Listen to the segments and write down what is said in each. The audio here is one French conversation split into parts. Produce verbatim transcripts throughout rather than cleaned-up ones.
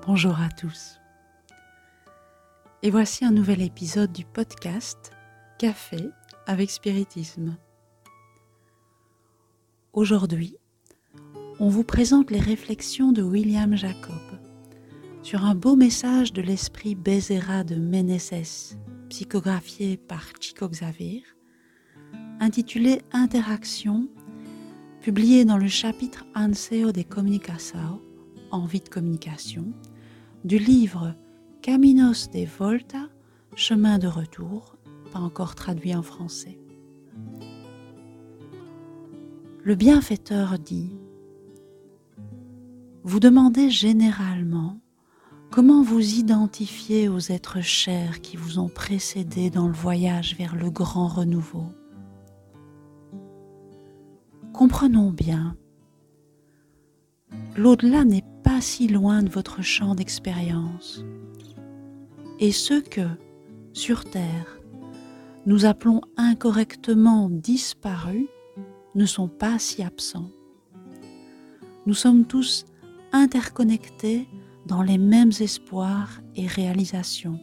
Bonjour à tous. Et voici un nouvel épisode du podcast Café avec Spiritisme. Aujourd'hui, on vous présente les réflexions de William Jacob sur un beau message de l'esprit Bezerra de Meneses, psychographié par Chico Xavier, intitulé Interaction, publié dans le chapitre Anseo de Comunicação, Envie de communication, du livre Caminos de Volta, Chemin de retour, pas encore traduit en français. Le bienfaiteur dit: vous demandez généralement comment vous identifiez aux êtres chers qui vous ont précédé dans le voyage vers le grand renouveau. Comprenons bien, l'au-delà n'est pas si loin de votre champ d'expérience, et ceux que, sur Terre, nous appelons incorrectement disparus ne sont pas si absents. Nous sommes tous interconnectés dans les mêmes espoirs et réalisations.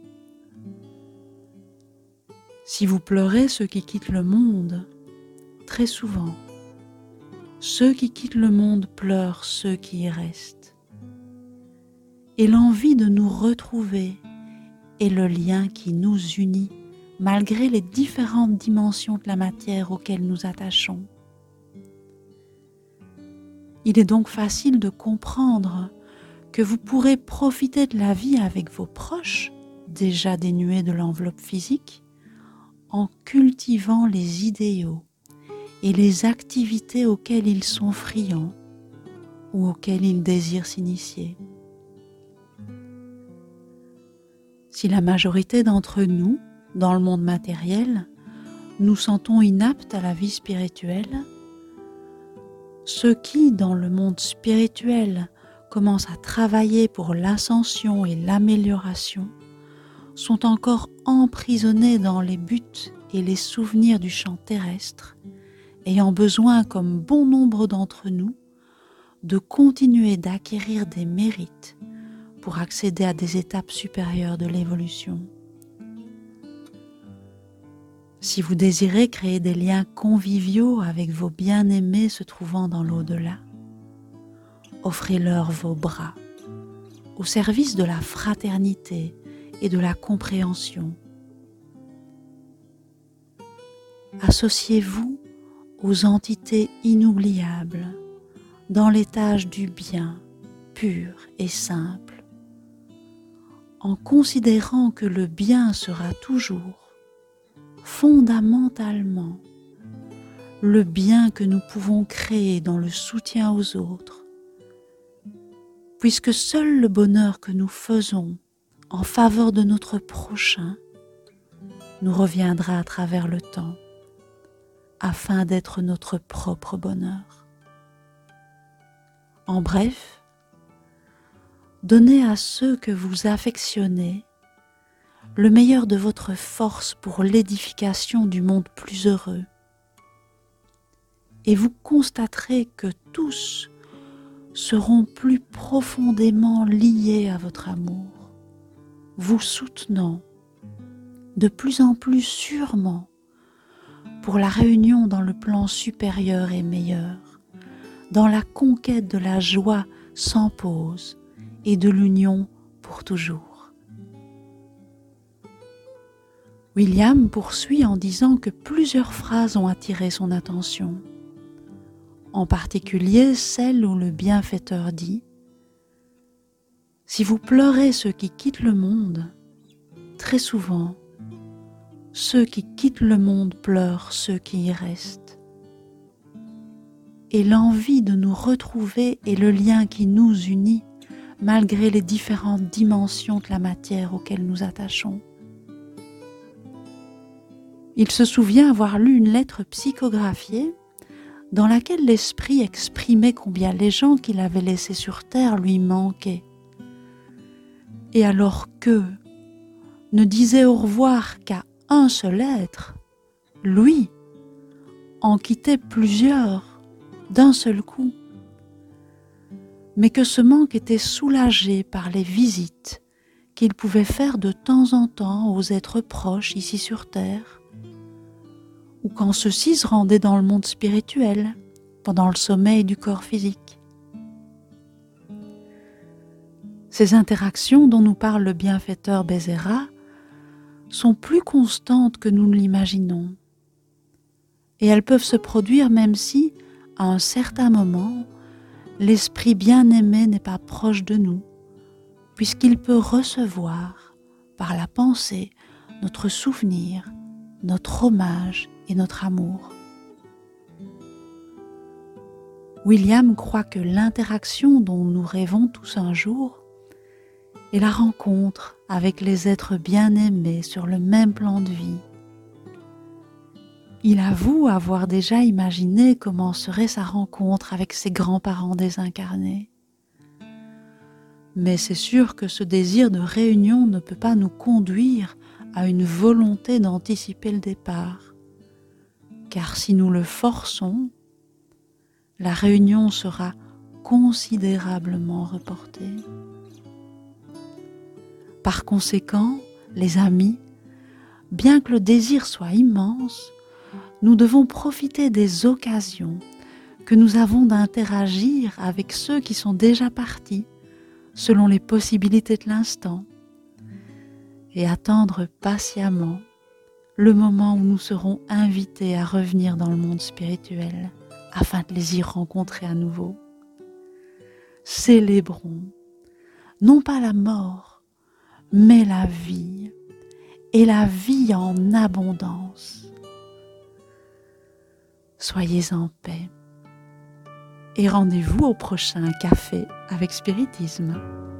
Si vous pleurez ceux qui quittent le monde, très souvent, ceux qui quittent le monde pleurent ceux qui y restent. Et l'envie de nous retrouver est le lien qui nous unit malgré les différentes dimensions de la matière auxquelles nous attachons. Il est donc facile de comprendre que vous pourrez profiter de la vie avec vos proches, déjà dénués de l'enveloppe physique, en cultivant les idéaux et les activités auxquelles ils sont friands ou auxquelles ils désirent s'initier. Si la majorité d'entre nous, dans le monde matériel, nous sentons inaptes à la vie spirituelle, ceux qui, dans le monde spirituel, commencent à travailler pour l'ascension et l'amélioration, sont encore emprisonnés dans les buts et les souvenirs du champ terrestre, ayant besoin, comme bon nombre d'entre nous, de continuer d'acquérir des mérites pour accéder à des étapes supérieures de l'évolution. Si vous désirez créer des liens conviviaux avec vos bien-aimés se trouvant dans l'au-delà, offrez-leur vos bras, au service de la fraternité et de la compréhension. Associez-vous aux entités inoubliables dans l'étage du bien pur et simple, en considérant que le bien sera toujours, fondamentalement, le bien que nous pouvons créer dans le soutien aux autres, puisque seul le bonheur que nous faisons en faveur de notre prochain nous reviendra à travers le temps, afin d'être notre propre bonheur. En bref, donnez à ceux que vous affectionnez le meilleur de votre force pour l'édification du monde plus heureux, et vous constaterez que tous seront plus profondément liés à votre amour, vous soutenant de plus en plus sûrement pour la réunion dans le plan supérieur et meilleur, dans la conquête de la joie sans pause et de l'union pour toujours. William poursuit en disant que plusieurs phrases ont attiré son attention, en particulier celle où le bienfaiteur dit: si vous pleurez ceux qui quittent le monde, très souvent, ceux qui quittent le monde pleurent ceux qui y restent. Et l'envie de nous retrouver est le lien qui nous unit, malgré les différentes dimensions de la matière auxquelles nous attachons. Il se souvient avoir lu une lettre psychographiée dans laquelle l'esprit exprimait combien les gens qu'il avait laissés sur terre lui manquaient. Et alors qu'eux ne disaient au revoir qu'à un seul être, lui en quittait plusieurs d'un seul coup. mais que ce manque était soulagé par les visites qu'il pouvait faire de temps en temps aux êtres proches ici sur Terre, ou quand ceux-ci se rendaient dans le monde spirituel, pendant le sommeil du corps physique. Ces interactions dont nous parle le bienfaiteur Bézéra sont plus constantes que nous ne l'imaginons, et elles peuvent se produire même si, à un certain moment, l'esprit bien-aimé n'est pas proche de nous, puisqu'il peut recevoir, par la pensée, notre souvenir, notre hommage et notre amour. William croit que l'interaction dont nous rêvons tous un jour est la rencontre avec les êtres bien-aimés sur le même plan de vie. Il avoue avoir déjà imaginé comment serait sa rencontre avec ses grands-parents désincarnés. Mais c'est sûr que ce désir de réunion ne peut pas nous conduire à une volonté d'anticiper le départ, car si nous le forçons, la réunion sera considérablement reportée. Par conséquent, les amis, bien que le désir soit immense, nous devons profiter des occasions que nous avons d'interagir avec ceux qui sont déjà partis, selon les possibilités de l'instant, et attendre patiemment le moment où nous serons invités à revenir dans le monde spirituel afin de les y rencontrer à nouveau. Célébrons non pas la mort, mais la vie, et la vie en abondance. Soyez en paix et rendez-vous au prochain café avec Spiritisme.